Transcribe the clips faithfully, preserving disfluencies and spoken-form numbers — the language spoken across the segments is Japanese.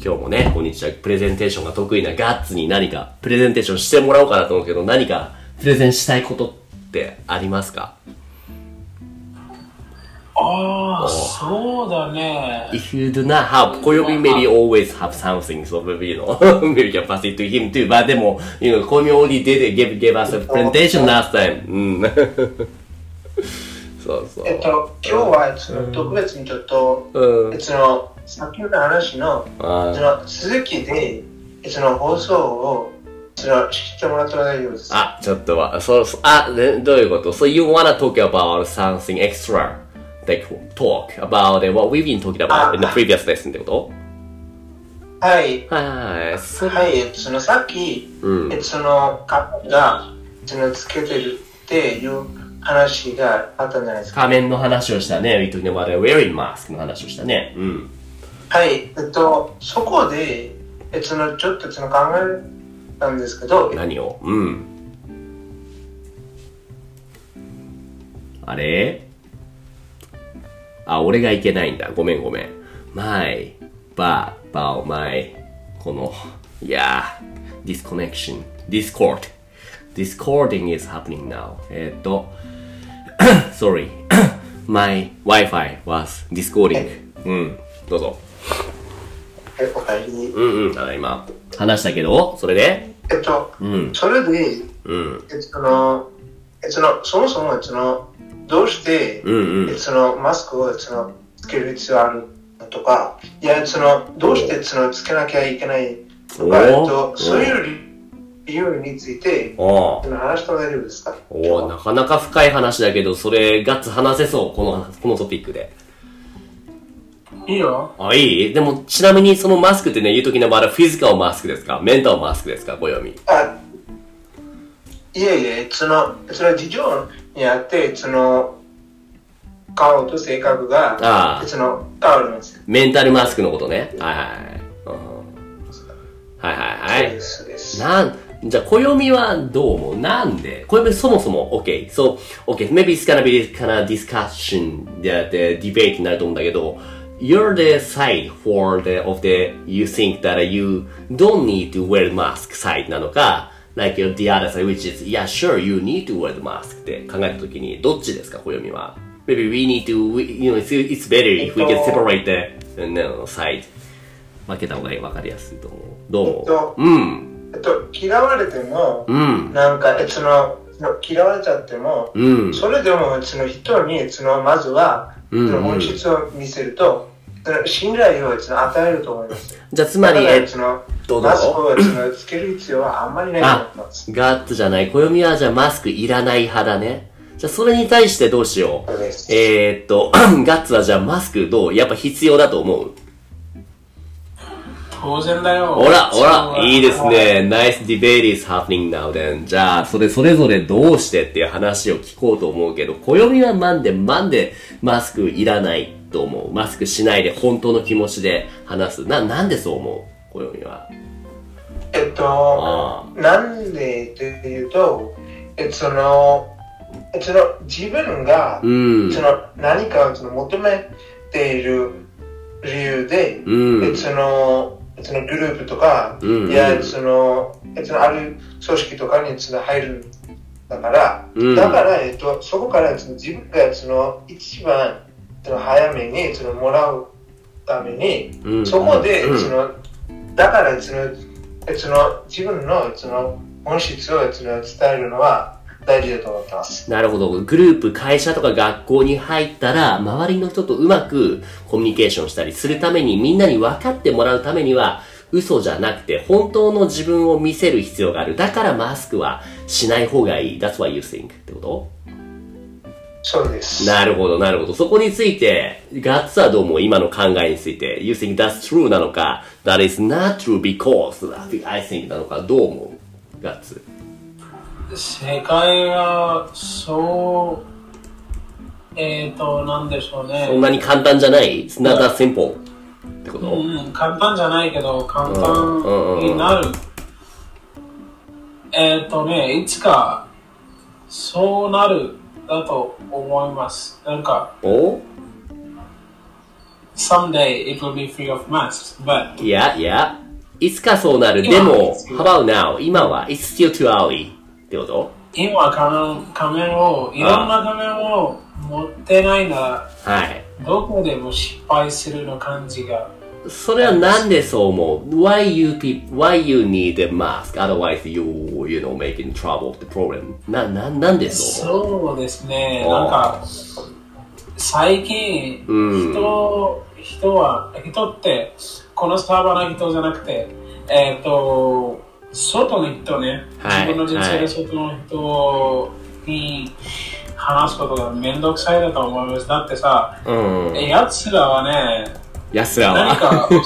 今日もね、こんにちは。プレゼンテーションが得意なガッツに何かプレゼンテーションしてもらおうかなと思うけど、何かプレゼンしたいことってありますか？ ああ、そうだね。 If you do not have, 小読み maybe always have something, so maybe, you know, maybe you can pass it to him too. But でも、you know, 小読み only did give, give us a presentation last time. うん。そうそう。 えっと、今日はその特別にちょっと、うん、そのさっきの話のその続きで、その放送をその知ってもらったら大丈夫です。 あ、ちょっとは、そうそう、あ、ね、どういうこと？ So you wanna talk about something extra?Like talk about what we've been talking about in the previous lesson ってこと？ はい。 はいはい。そはい、そのさっき、うん、そのカメがそのつけてるっていう話があったんじゃないですか。 仮面の話をしたね。We talking about wearing mask の話をしたね。うん。 はい。えっと、そこで、えそのちょっとその考えたんですけど。 何を？うん。あれ？あ、俺がいけないんだ。ごめんごめん。my, but, about my, この、いやー、disconnection, discord, discording is happening now. えっと、sorry, my Wi-Fi was discording. うん、どうぞ。 え、おかえり。 うんうん、ただ今、話したけど、それでえっと、うん、それで、うん、えその、えその、そもそも、その、どうして、うんうん、そのマスクをそのつける必要あるのとか、いや、そのどうしてそのつけなきゃいけないとか、えっと、そういう理由について話しても大丈夫ですか？ おなかなか深い話だけど、それガッツ話せそう、このこのトピックで。 いいよ。 あ、いい？でもちなみにそのマスクってね、言うときのまだフィジカルマスクですか？メンタルマスクですか？小読み。 あ、いえいえ、そのそれは事情にあって、その顔と性格があその変わるんですよ。 メンタルマスクのことね。はいはい、うん、はいはいはい。 そうです。 なんじゃあ暦はどう思う？なんで暦そもそも OK。So OK. Maybe it's gonna be this kind of discussion that the debate になると思うんだけど。You're the side for the of the you think that you don't need to wear mask side なのか。Like the other side, which is, yeah, sure, you need to wear the mask って考えたときに、どっちですか、暦は。Maybe we need to, we, you know, it's, it's better if we can separate the, no, side. 分けた方がいい、分かりやすいと思う。どう思う？ えっと、 うん。 えっと、嫌われても、うん、なんか、その、嫌われちゃっても、うん、それでも、その人に、その、まずは、うんうん、その本質を見せると、信頼を与えると思います。 じゃあつまり、 えそのマスクをつける必要はあんまりないと思います。 ガッツじゃない。暦はじゃあマスクいらない派だね。じゃあそれに対してどうしよう。えー、っと、ガッツはじゃあマスクどう？やっぱ必要だと思う？ 当然だよ。 ほら、ほら、いいですね。Nice debate is happening now then. じゃあ、それ、それぞれどうしてっていう話を聞こうと思うけど、暦はなんで、なんでマスクいらないと思う？マスクしないで本当の気持ちで話す。な、なんでそう思う？暦は。 えっと、なんでっていうと、えっと、その、その自分が、うん、その何かをその求めている理由で、うん、えっと、その、そのグループとか、うんうん、いやその、そのある組織とかにその入るんだから、うん、だから、えっと、そこからその自分がその一番その早めにそのもらうために、うん、そこで、うん、そのだからそのその自分のその本質をその伝えるのは大事だと思ってます。 なるほど。グループ、会社とか学校に入ったら、周りの人とうまくコミュニケーションしたりするために、みんなに分かってもらうためには、嘘じゃなくて、本当の自分を見せる必要がある。だからマスクはしない方がいい。That's what you think ってこと？ そうです。 なるほど、なるほど。そこについて、ガッツはどうも今の考えについて、You think that's true なのか、That is not true because I think なのか、どう思う？ガッツ。 世界はそう、えっと、なんでしょうね。 そんなに簡単じゃない？ It's not that simple ってこと？ うん、簡単じゃないけど、簡単になる。えっとね、いつかそうなるだと思います。なんか、 お someday it will be free of masks, but Yeah, yeah. いつかそうなる。でも、how about now? 今は It's still too early ってこと？ 今は仮面、仮面を、いろんな仮面を持ってないなら、 はい。 どこでも失敗するの感じが。 それはなんでそう思う？ Why you people, why you need a mask? Otherwise you, you know, making trouble, the problem. な、な、なんでそう思う？ そうですね。なんか、最近、人、人は、人って、このスタバの人じゃなくて、えっと、外の人ね、 はい、 自分の人生で外の人に話すことがめんどくさいだと思います。だってさ、うん、やつらはね、 やつらは何かち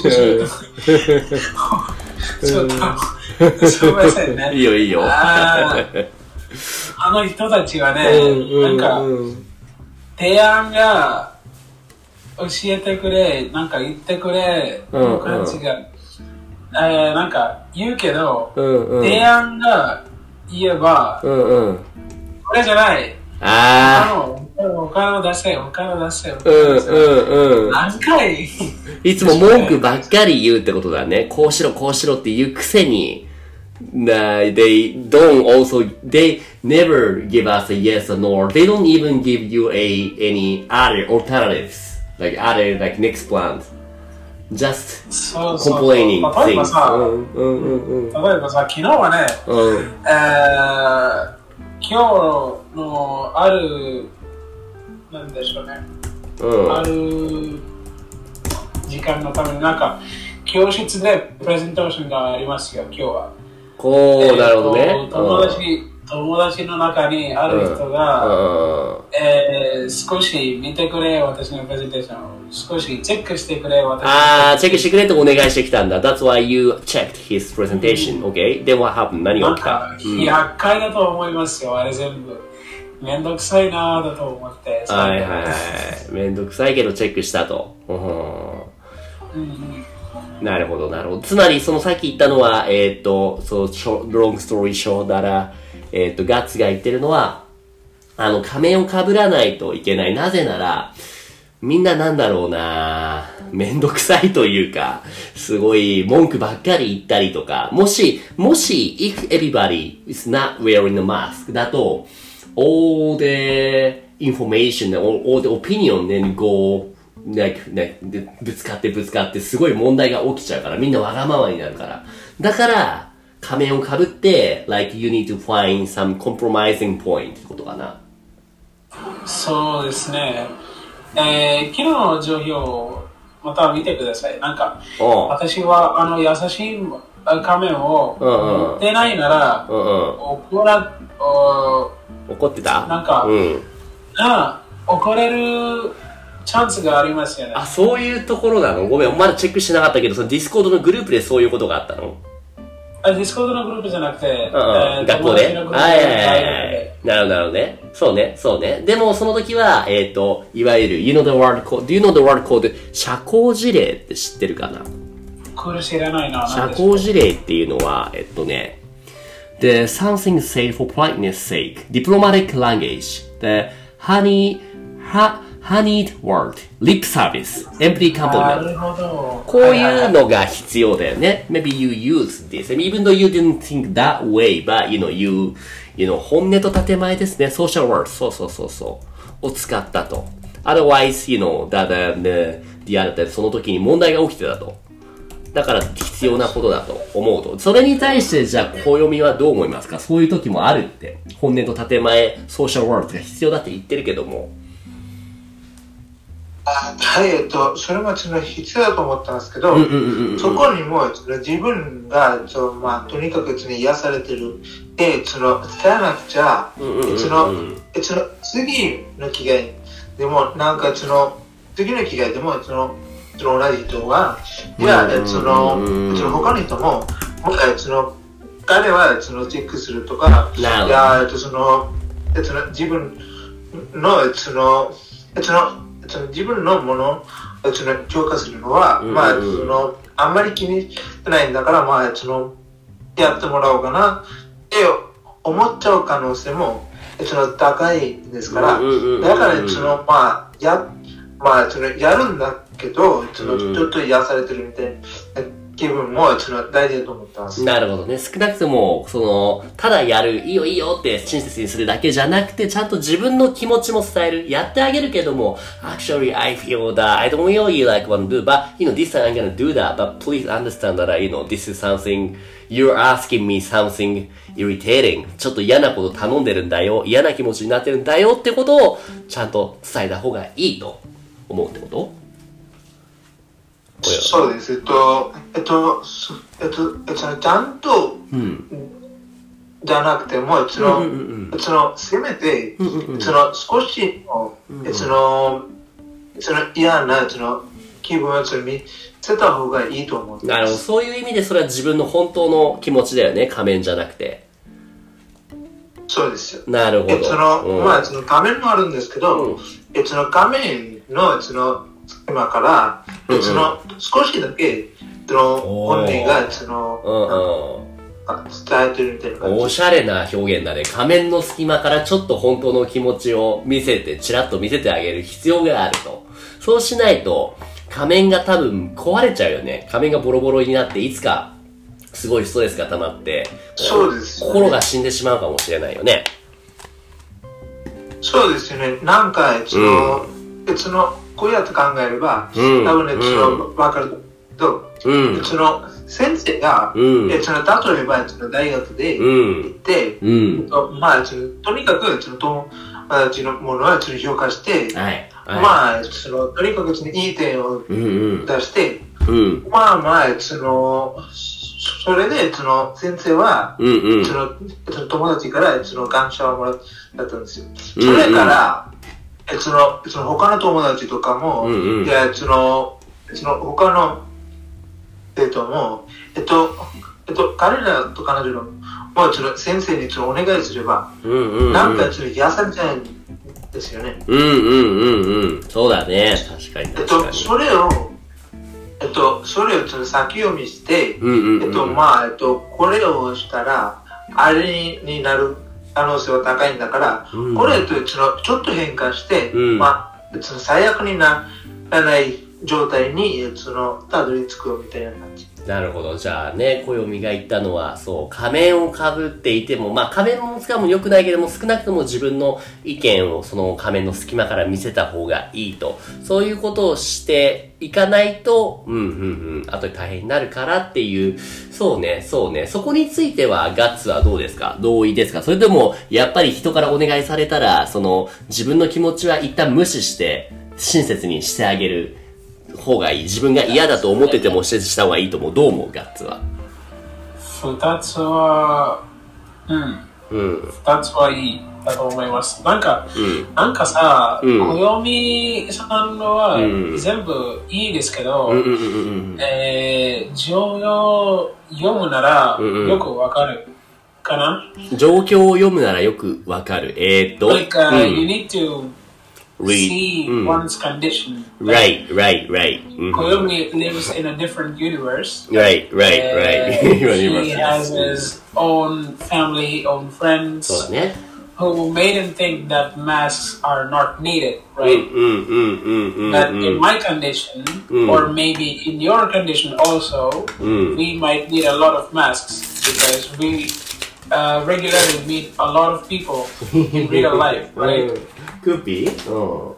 ょっと、すみませんね。 いいよいいよ。 あ, あの人たちはね、なんか、提案が教えてくれ、なんか言ってくれ、の感じが、うんうんえー、なんか言うけど、うんうん、提案が言えば、うんうん、これじゃない。ああ。お金を出せよ、お金を出せよ。うんうんうん。何回いつも文句ばっかり言うってことだね。こうしろ、こうしろって言うくせに、uh, they don't also, they never give us a yes or no. They don't even give you a, any other alternatives. Like other, like next plans.Just そうそう complaining 例えばさ、 うんうんうんうん、 例えばさ、昨日はね、うんえー、今日のある、なんでしょうね、うん、ある時間のためになんか、教室でプレゼンテーションがありますよ、今日は。 こう、えー、なるほどね。 友達、うん友達の中にある人が、うんえー、少し見てくれ、私のプレゼンテーションを。少しチェックしてくれ、私の。 ああ、チェックしてくれとお願いしてきたんだ。That's why you checked his presentation. Okay? Then what happened? 何が起きた？ なんか、厄介だと思いますよ、あれ全部。めんどくさいなぁだと思って。 はいはいはい。めんどくさいけどチェックしたと。うんうんなるほど、なるほど。つまり、そのさっき言ったのは、えっ、ー、と、そう、ロングストーリーショーだら、えっ、ー、と、ガッツが言ってるのは、あの、仮面を被らないといけない。なぜなら、みんななんだろうなめんどくさいというか、すごい文句ばっかり言ったりとか、もし、もし、if everybody is not wearing a mask だと、all the information, all, all the opinion then go like, like, ぶつかってぶつかってすごい問題が起きちゃうから、みんなわがままになるから。だから、仮面を被って、like, you need to find some compromising point ってことかな。 そうですね。えー、昨日の状況をまた見てください。なんか、私はあの優しい仮面を持ってないなら、うんうん、怒ら、 怒ってたなんか、うん、あ怒れるチャンスがありますよね。 あ、そういうところなの？ごめん、まだチェックしてなかったけど、そのディスコードのグループでそういうことがあったの？ あ、ディスコードのグループじゃなくて、うんうんえー、学校ではいはいはい。なるほど、なるほどね。そうね、そうね。でも、その時は、えっ、ー、と、いわゆる、you know the word code, do you know the word code? 社交辞令って知ってるかな？ これ知らないな。 社交辞令っていうのは、えっとね、the something said for politeness sake, diplomatic language, the honey, ha, honeyed word, lip service, empty compliment. こういうのが必要だよね。Maybe you use this, even though you didn't think that way, but you know, you, you know, 本音と建前ですね。social words, そうそうそうそう。を使ったと。Otherwise, you know, that, uh, the other, その時に問題が起きてたと。だから必要なことだと思うと。それに対してじゃあ小読みはどう思いますか？そういう時もあるって。本音と建前、ソーシャルワールドが必要だって言ってるけども。 あはい、えっと、それもその必要だと思ったんですけど、そこにも自分がその、まあ、とにかく癒されてるで、その伝えなくちゃ、そのその次の機会でもなんかその次の機会でもそのその同じ人が、いや、そのその他の人も、その彼はそのチェックするとか、いや、そのその自分のそのそのその自分のものをその強化するのは、うんうん、まあそのあんまり気にしてないんだから、まあそのやってもらおうかなって思っちゃう可能性もその高いですから、だからそのまあやまあそのやるんだっけど、そのちょっと癒されてるみたいな気分もその大事だと思ってます。 なるほどね。少なくとも、その、ただやる、いいよいいよって親切にするだけじゃなくて、ちゃんと自分の気持ちも伝える。やってあげるけども、actually I feel that I don't really like want to do, but, you know, this time I'm gonna do that, but please understand that, you know, this is something, you're asking me something irritating. ちょっと嫌なこと頼んでるんだよ。嫌な気持ちになってるんだよってことを、ちゃんと伝えた方がいいと思うってこと？ そうです。えっと、えっと、えっと、えっと、ちゃんと、うん、じゃなくても、その、うんうんうん、その、せめて、うんうんうん、その、少しの、うんうん、その、その嫌な、その、気分をその見せた方がいいと思う。 なるほど。そういう意味で、それは自分の本当の気持ちだよね。仮面じゃなくて。 そうですよ。 なるほど。 えその、うん、まあ、その仮面もあるんですけど、うん、えその仮面の、その、今から、うんうん、その少しだけその本人がその、うんうん、伝えてるみたいな感じ。 おしゃれな表現だね。仮面の隙間からちょっと本当の気持ちを見せて、ちらっと見せてあげる必要があると。そうしないと仮面が多分壊れちゃうよね。仮面がボロボロになっていつかすごいストレスが溜まって、 そうですよね、 心が死んでしまうかもしれないよね。 そうですよね。なんかその、うん、そのこうやって考えれば、うん、多分ね、その、分かると、うん、その、先生が、うん、その、例えば、その大学で行って、うん、まあ、その、とにかく、その、友達のものは、その、評価して、はいはい、まあ、その、とにかく、その、いい点を出して、うんうん、まあまあ、その、それで、その、先生は、うんうん、その、その友達から、その、感謝をもらったんですよ。それから、えその、その他の友達とかも、うんうん、いや、その、その他の生徒も、えっと、えっと、彼らと彼女の、もうその先生にそのお願いすれば、うんうんうん、なんかその癒されちゃうんですよね。 うんうんうんうん。そうだね。確かに確かに。 えっと、それを、えっと、それをその先読みして、うんうんうん、えっと、まあ、えっと、これをしたら、あれになる。可能性は高いんだから、うん、これとそのちょっと変化して、うん、まあ、その最悪にならない状態にそのたどり着くみたいな感じ。 なるほど。じゃあね、暦が言ったのは、そう、仮面をかぶっていても、まあ仮面も使うも良くないけども、少なくとも自分の意見をその仮面の隙間から見せた方がいいと。そういうことをしていかないと、うんうんうん、後で大変になるからっていう、そうね、そうね。そこについては、ガッツはどうですか？同意ですか？それとも、やっぱり人からお願いされたら、その、自分の気持ちは一旦無視して、親切にしてあげる方がいい。自分が嫌だと思ってても施設した方がいいと思う。どう思う？ガッツは。 二つは、うん。うん。二つはいいだと思います。なんか、うん、なんかさ、うん、暦さんのは全部いいですけど、うん、えー、状況を読むならよくわかるかな？ 状況を読むならよくわかる。えーっと、 like, uh, you need to read see mm. one's condition. Right, right, right. Koyomi mm-hmm. lives in a different universe. Right, right, uh, right. He has his own family, own friends, who made him think that masks are not needed, right? Mm, mm, mm, mm, but mm, in my condition, mm. or maybe in your condition also, mm. we might need a lot of masks because we uh, regularly meet a lot of people in real life, right? Could be. Oh.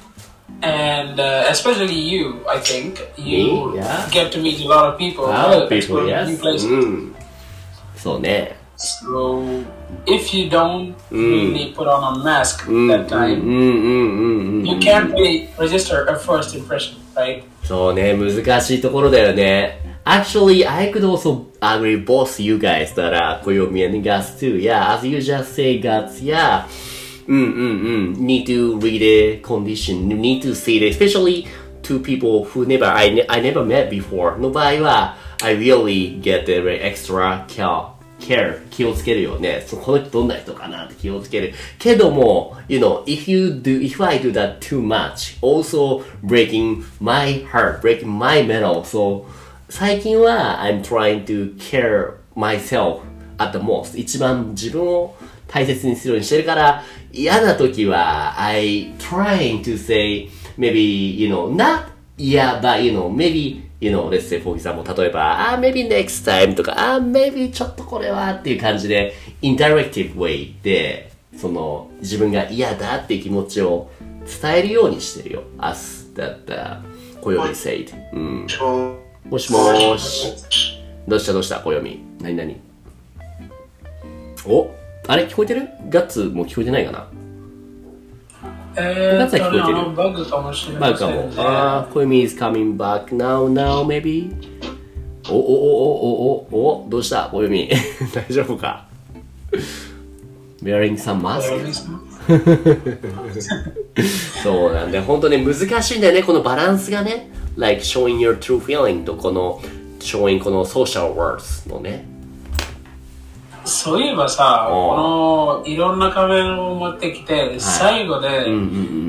And uh, especially you, I think. You Me? Yeah. get to meet a lot of people. A lot of people, yes. New places. Mm. So, ne. So, if you don't mm. really put on a mask mm, that time, mm, mm, mm, mm, you can't really register a first impression, right? そうね、難しいところだよね。Actually, I could also agree both you guys that are Koyomi and Guts too. Yeah, as you just say, Guts, yeah. Mm, mm, mm. Need to read the condition. You need to see it, especially to people who never I, ne I never met before. の場合は I really get the extra care, care 気をつけるよね。そこの人どんな人かなって気をつける。けども you know, if you do, if I do that too much, also breaking my heart, breaking my mental. So 最近は I'm trying to care myself at the most. 一番自分を大切にするようにしてるから、嫌な時は I trying to say maybe, you know, not Yeah, but you know, maybe, you know, let's say for example, 例えば、あ、maybe next time とか、あ、maybe ちょっとこれはっていう感じで、indirective way で、その、自分が嫌だっていう気持ちを伝えるようにしてるよ。as that, uh, 小読み said。うん。もしもーし。どうしたどうした小読み。なになにお、あれ聞こえてる？ガッツも聞こえてないかな？ えー、っと、あの、バグかもしれない、ね。バグかも。 ああ、小読み is coming back now, now, maybe? おおおおおおお、どうした小読み。大丈夫か？ Wearing some mask? そうなんで、本当に難しいんだよね、このバランスがね。Like showing your true feeling とこの showing この social words のね。 そういえばさ、このいろんな仮面を持ってきて、はい、最後で、うんうんうん、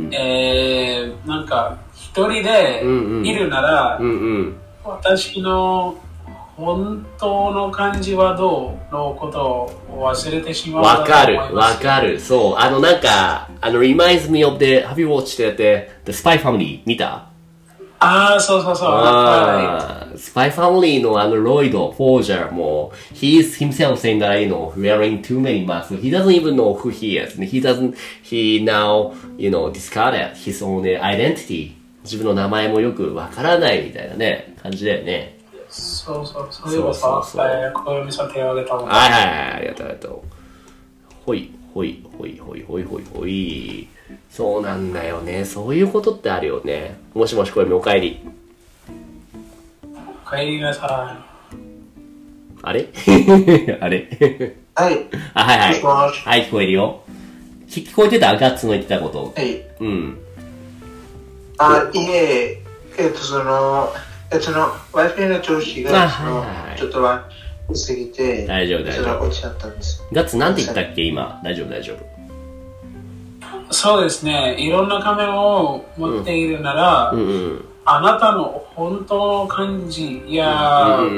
えー、なんか一人でいるなら、うんうん、私の本当の感じはどうのことを忘れてしまう。 わかる、わかる。そう、あのなんか、あの reminds me of the, have you watched the, the Spy Family 見た？ ああ、そうそうそう。 あスパイファミリーのあのロイド、フォージャーも、he is himself saying that, you know, wearing too many masks. He doesn't even know who he is. He doesn't, he now, you know, discarded his own identity. 自分の名前もよくわからないみたいなね、感じだよね。 そうそう、そういえばさ、小読さん手を挙げたもんね。 はいはいはい、ありがとうありがとう。ほい、ほい、ほい、ほい、ほい、ほい、ほい。そうなんだよね。そういうことってあるよね。もしもし、小読おかえり。 おかえりなさい。 あれあれはい。 あ、はいはい。はい、聞こえるよ。聞こえてた？ガッツの言ってたこと。 はい。 うん。 あ、いえ、えっと、その、えっと、その、Wi-Fi の調子が、その、ちょっと悪すぎて、 大丈夫、大丈夫。 落ちちゃったんです。 ガッツ、なんて言ったっけ、今。大丈夫、大丈夫。 そうですね。いろんな仮面を持っているなら、うんうんうん、あなたの本当の感じや、うんうん、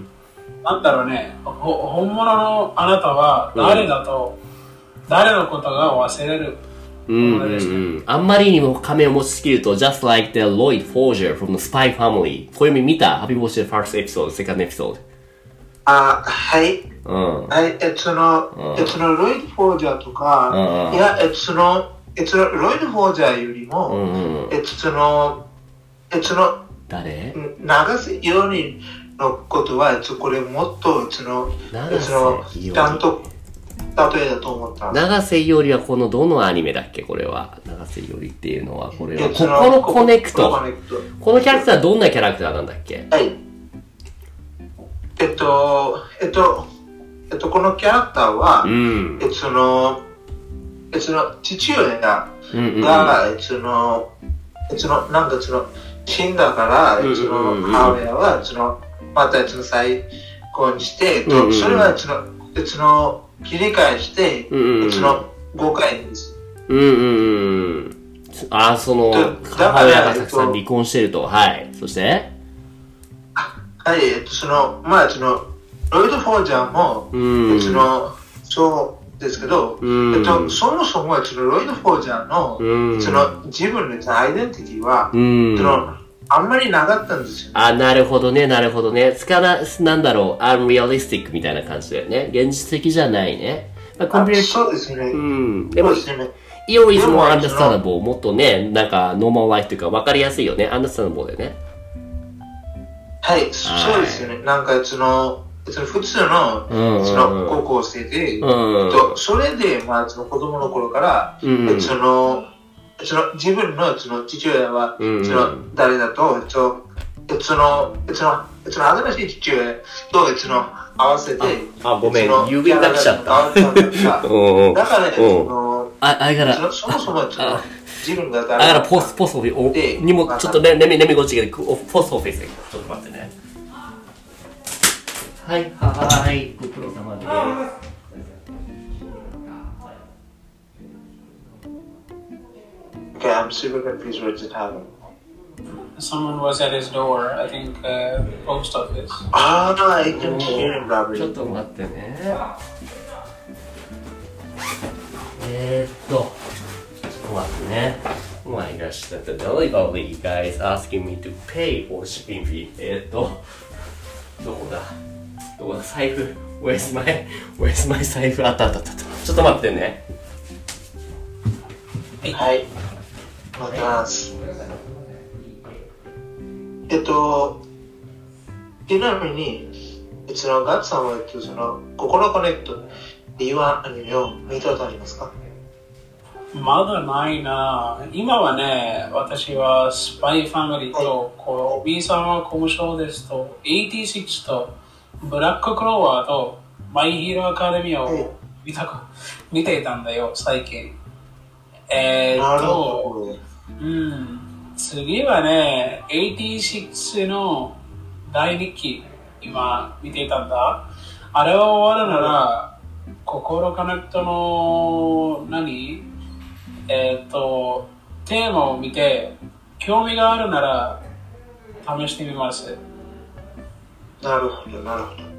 なんだろうね、本物のあなたは誰だと、うん、誰のことが忘れる。うんうんうん、 あんまりにも仮面を持ちすぎると、just like the Lloyd Forger from the Spy Family。こういう意味見た？ Have you watched the first episode, second episode? あ、はい。 うん、 はい、えっと、その、うん、えっと、そのロイド・フォージャーとか、うん、いや、えっと、その、えっと、ロイド・フォージャーよりも、うんうん、えっと、その、えっと、その、 誰？ 長瀬よりのことは、えっと、これもっと、その、えっと、その、ちゃんと、例えだと思った。 長瀬よりはこのどのアニメだっけこれは。長瀬よりっていうのは、これは。ここのコネクト。このキャラクターはどんなキャラクターなんだっけ？ はい。えっと、えっと、えっと、このキャラクターは、うん、えっと、その、えっと、その、父親が、うんうん、えっと、その、えっと、その、なんかその、死んだから、えっと、その、母親は、その、また、その、再婚して、えっと、それは、その、えっと、その、切り返して、うんうん、その、ごかいです。 うんうんうん。あ、その、母親がたくさん離婚してると。はい。そしてはい、えっと、その、まあ、その、ロイド・フォージャーも、うん、その、そうですけど、うん、えっと、そもそも、その、ロイド・フォージャーの、うん、その、自分のアイデンティティは、うん、その、あんまりなかったんですよ、ね。 あ、なるほどね、なるほどね。つかな、なんだろう、アンリアリスティックみたいな感じだよね。現実的じゃないね。まあ、コンピューター。 そうですね。 うん。でも、イオリズもアンダースタンダボー、もっとね、なんか、ノーマルライフというか、わかりやすいよね。アンダースタンダボーだよね。 はい、そうですよね。なんか、その、その普通の、うんうん、その高校生で、うんうん、とそれで、まあ、その子供の頃から、うんうん、その、その自分のその父親は、うんうん、その誰だと、その、その、その、その新しい父親と、その、合わせて、 あ、あごめん、郵便が来ちゃった。 だからね、その、 あ、あれから、 そもそも、その、自分が誰だと。あ、ポスト、ポストオフィス、にも、ちょっとね、ねみ、ねみごちが、ポストオフィスで、ちょっと待ってね。はい、はい、ご苦労様です。 Okay, I'm super confused what just happened. Someone was at his door, I think, uh, post office. Ah, no, I can hear him, Robert. ちょっと待ってね。えーっと、ちょっと待ってね。う my gosh, that the delivery guy is asking me to pay for shipping fee. えーっと、どこだどこだ財布 Where's my, where's my 財布あったあったあった。ちょっと待ってね。 はい。待ってます。えっと、ちなみに、うちのガッツさんは、えっと、その、心コネクトっていうアニメを見たことありますか？ まだないな。今はね、私はスパイファミリーと、こう、B さんはコムショーですと、エイティシックスと、ブラッククローワーと、マイヒーローアカデミアを見たく、見ていたんだよ、最近。えー、っと、うん、次はね、エイティシックスの第二期、今見ていたんだ。あれは終わるなら、心コネクトの何えー、っと、テーマを見て、興味があるなら、試してみます。 なるほど、なるほど。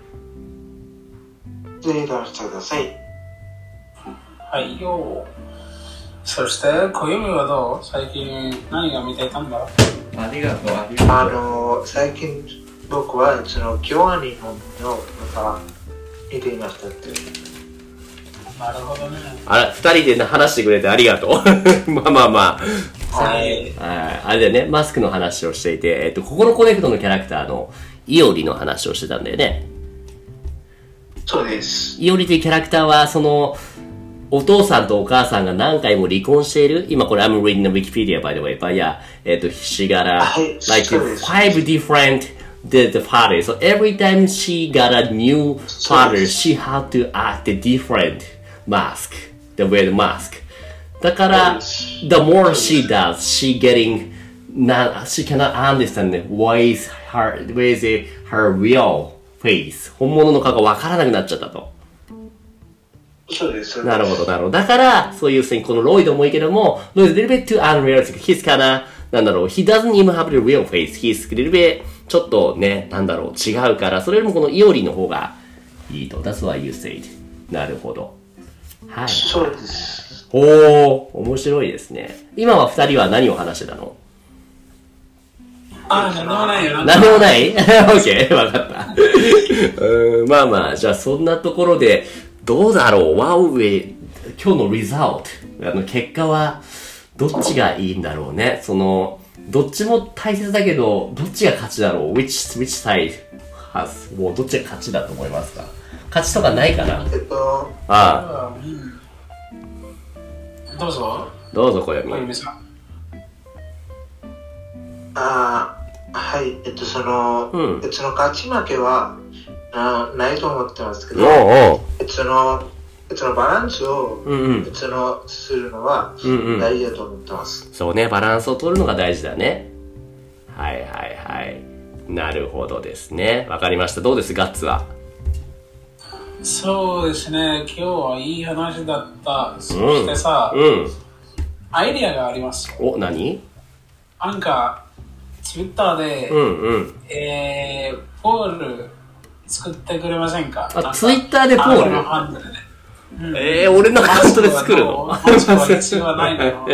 ぜひ試してください。 はいよ。そして、小読はどう？最近何が見ていたんだ？ ありがとう、ありがとう。 あの、最近僕は、その、京アニメの、なんか、見ていましたって。 なるほどね。 あら、二人で話してくれてありがとう。まあまあまあ。 はい。 あれだよね、マスクの話をしていて、えっと、心コネクトのキャラクターのイオリの話をしてたんだよね。 そうです。 イオリというキャラクターは、その、お父さんとお母さんが何回も離婚している。今これ I'm reading the Wikipedia by the way, but yeah, えっと、she got a, like five different the, the fathers. So every time she got a new father, she had to act a different mask, the wear the mask. だから、the more she does, she getting, not, she cannot understand why is her, where is it, her real face. 本物の顔がわからなくなっちゃったと。 そうです。 なるほど、なるほど。だから、そういうこのロイドもいいけども、ロイド a little bit too unrealistic. He's kinda, なんだろう、he doesn't even have the real face. He's a little bit, ちょっとね、なんだろう、違うから、それよりもこのイオリの方がいいと。That's why you said. なるほど。はい。 そうです。 おー、面白いですね。今は二人は何を話してたの？ あ、なんでもないよ。 なんでもない？ OK、わかった。うん、まあまあ、じゃあそんなところで、どうだろう、ワウェイ、今日のリザルト、あの結果はどっちがいいんだろうね。その、どっちも大切だけど、どっちが勝ちだろう。which, which side has, もうどっちが勝ちだと思いますか？勝ちとかないかな？ えっと、 ああ。 どうぞ。 どうぞ、小読。 小読さん。 ああ、はい、えっと、その、 うん、 えっと、その勝ち負けはなないと思ってますけど、 おうおう、 えっと、その、えっと、そのバランスを、 うんうん、 えっと、そのするのは大事だと思ってます、 うんうん。そうね、バランスを取るのが大事だね。はいはいはい。なるほどですね。わかりました。どうです、ガッツは？ そうですね、今日はいい話だった。そしてさ、 うんうん、 アイディアがあります。 お、何？ なんか、ツイッターで、 うんうん、 えー、ポール作ってくれませんか？ あ、ツイッターでポール？ のハンドルで、 うん、えー、俺のアカウントで作るの？ マスクは必要はないの？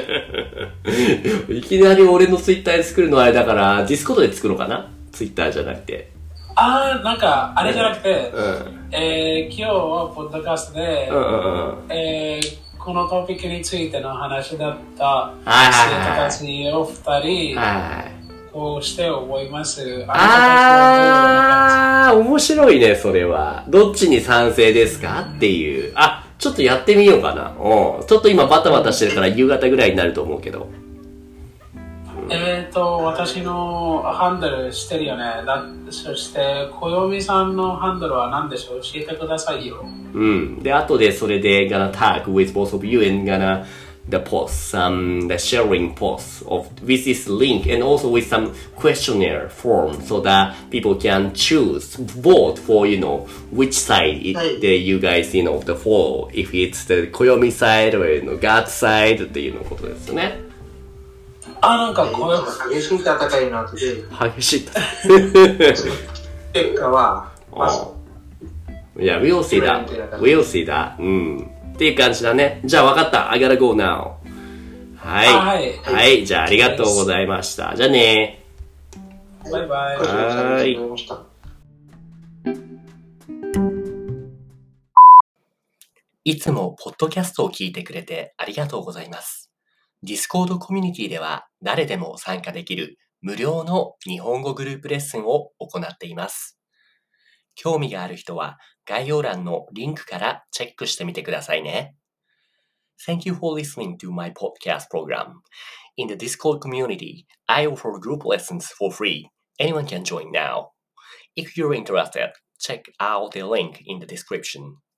いきなり俺のツイッターで作るのはあれだから、ディスコードで作ろうかな？ツイッターじゃなくて。 あー、なんか、あれじゃなくて、 うん、 えー、今日はポッドキャストで、 うんうんうん、えー、このトピックについての話だった生徒たちをふたり、こうして思います。 ああー、面白いね、それは。どっちに賛成ですかっていう。あ、ちょっとやってみようかな。うん。ちょっと今バタバタしてるから夕方ぐらいになると思うけど。 えっと、私のハンドルしてるよね。だそして、小読さんのハンドルは何でしょう？教えてくださいよ。 うん。で、後でそれで gonna tag with both of you and gonna the post, some the sharing posts of with this link and also with some questionnaire form so that people can choose, vote for, you know, which side it, the, you guys, you know, the follow. If it's the 小読 side or, you know, God side っていうのことですよね。 あ、なんかこう激しい戦いになってて、 激しい戦い結果はまあ、いや、we'll see that we'll see that うんっていう感じだね。じゃあ分かった。I gotta go now。 はい。はい。はい。じゃあ、ありがとうございました。じゃあね。 バイバイ。 はい。 いつもポッドキャストを聞いてくれてありがとうございます。Discord コミュニティでは誰でも参加できる無料の日本語グループレッスンを行っています。興味がある人は概要欄のリンクからチェックしてみてくださいね。Thank you for listening to my podcast program. In the Discord community, I offer group lessons for free. Anyone can join now. If you're interested, check out the link in the description.